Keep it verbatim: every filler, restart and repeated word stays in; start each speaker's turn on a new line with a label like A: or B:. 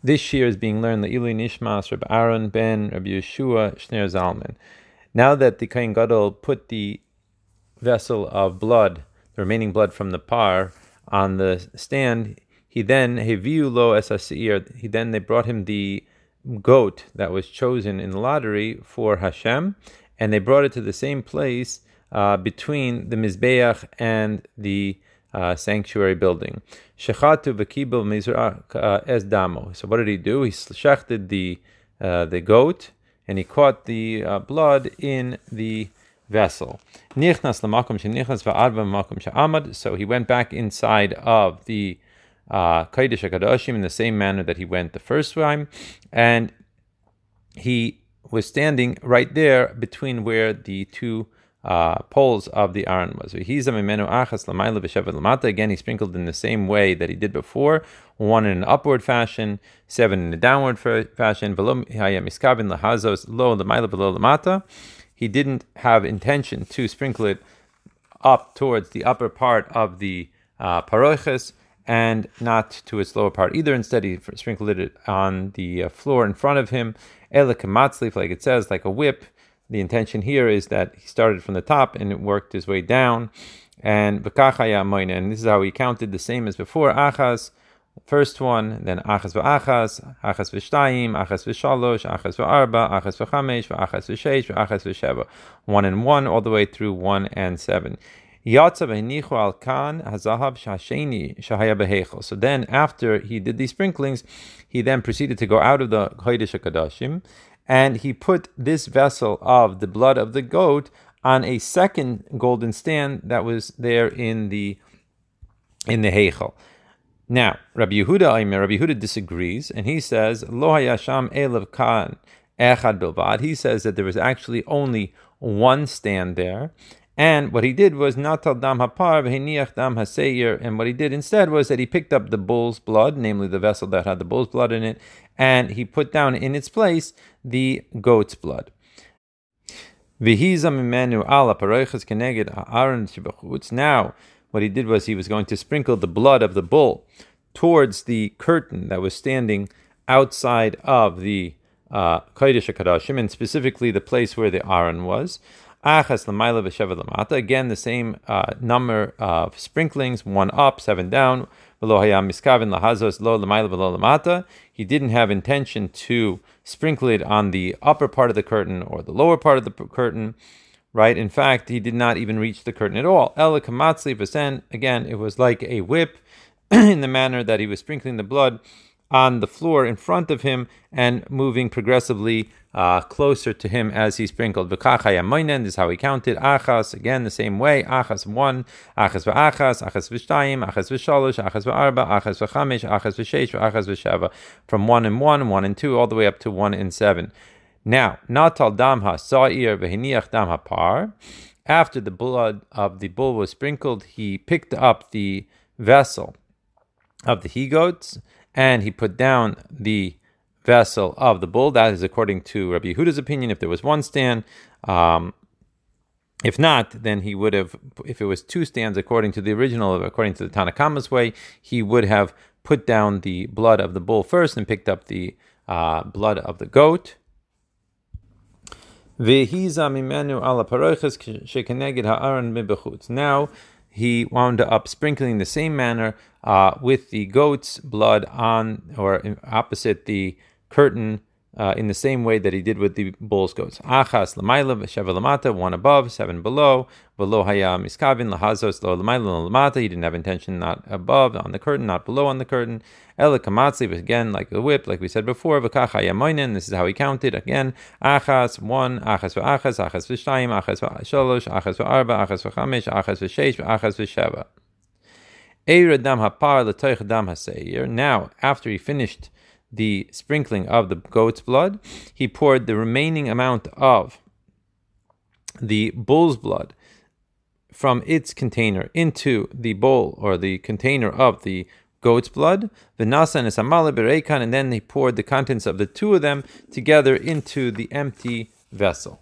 A: This shir is being learned Le'ilui Nishmas Rabbi Aaron ben Rabbi Yeshua Shner Zalman. Now that the Kohen Gadol put the vessel of blood, the remaining blood from the par, on the stand, he then heviu lo es asir. He then they brought him the goat that was chosen in the lottery for Hashem, and they brought it to the same place uh, between the mizbeach and the uh, sanctuary building. Shechatu v'kibel mizrach es damo. So what did he do? He shechted the uh, the goat, and he caught the uh, blood in the vessel. Nichnas lamakom shenichnas va'arba makom she'amad. So he went back inside of the uh, Kodesh HaKadoshim in the same manner that he went the first time, and he was standing right there between where the two uh, poles of the Aron was. Again, he sprinkled in the same way that he did before, one in an upward fashion, seven in a downward fashion. He didn't have intention to sprinkle it up towards the upper part of the uh, paroches, and not to its lower part either. Instead, he sprinkled it on the uh, floor in front of him, elekamatzlif, like it says, like a whip. The intention here is that he started from the top and it worked his way down. And v'kachaya moina, and this is how he counted, the same as before. Achas, first one, then achas v'achas, achas v'shtayim, achas v'shalosh, achas v'arba, achas v'chamesh, v'achas v'sheish, v'achas v'sheva. One and one, all the way through one and seven. So then after he did these sprinklings, he then proceeded to go out of the Kodesh HaKadoshim, and he put this vessel of the blood of the goat on a second golden stand that was there in the in the Heichal. Now, Rabbi Yehuda, Rabbi Yehuda disagrees, and he says, Lo hayasham elav kan echad bilvad. He says that there was actually only one stand there. And what he did was natal dam hapar v'heniach dam haseir, and what he did instead was that he picked up the bull's blood, namely the vessel that had the bull's blood in it, and he put down in its place the goat's blood. V'hiza mimenu ala paroiches keneged ha'aron shebachutz. Now, what he did was he was going to sprinkle the blood of the bull towards the curtain that was standing outside of the uh, Kodesh HaKadoshim, and specifically the place where the Aron was. Achas l'mayla v'sheva l'mata. Again, the same uh, number of sprinklings, one up, seven down. V'lo hayam miskavin lahazos lo l'mayla v'lo l'mata. He didn't have intention to sprinkle it on the upper part of the curtain or the lower part of the curtain, right? In fact, he did not even reach the curtain at all. Ela kamatzli v'sen. Again, it was like a whip in the manner that he was sprinkling the blood on the floor in front of him and moving progressively uh, closer to him as he sprinkled. V'kachaya moinen, this is how he counted. Achas, again the same way. Achas one, achas v'achas, achas v'shtayim, achas v'shalosh, achas v'arba, achas v'chamesh, achas v'sheish, achas v'sheva. From one and one, one and two, all the way up to one and seven. Now, natal dam ha-sa'ir v'hiniach dam ha-par. After the blood of the bull was sprinkled, he picked up the vessel of the he-goats, and he put down the vessel of the bull. That is according to Rabbi Yehuda's opinion, if there was one stand. Um, if not, then he would have, if it was two stands according to the original, according to the Tanakhama's way, he would have put down the blood of the bull first and picked up the uh, blood of the goat. Now, he wound up sprinkling the same manner uh, with the goat's blood on, or in, opposite the curtain, uh, in the same way that he did with the bull's goats. Achas l'mayla v'sheva l'mata, one above, seven below. V'lo haya miskavin l'hazos lo l'mayla l'mata. He didn't have intention, not above on the curtain, not below on the curtain. Ela kamatzli, again like the whip, like we said before. V'kach haya moinen. This is how he counted again. Achas one, achas v'achas, achas v'shtayim, achas v'shalosh, achas v'arba, achas v'chamesh, achas v'sheish, achas v'sheva. Eira dam hapar l'toich dam haseir. Now, after he finished the sprinkling of the goat's blood, he poured the remaining amount of the bull's blood from its container into the bowl or the container of the goat's blood, v'nasa and esamala bereikan, and then he poured the contents of the two of them together into the empty vessel.